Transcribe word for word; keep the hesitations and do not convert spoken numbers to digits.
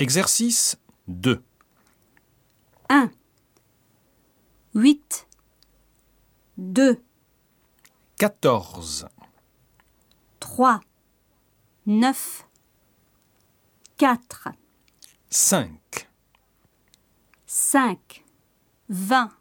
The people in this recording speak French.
Exercice deux. un, huit, deux, quatorze, trois, neuf, quatre, cinq, cinq, vingt,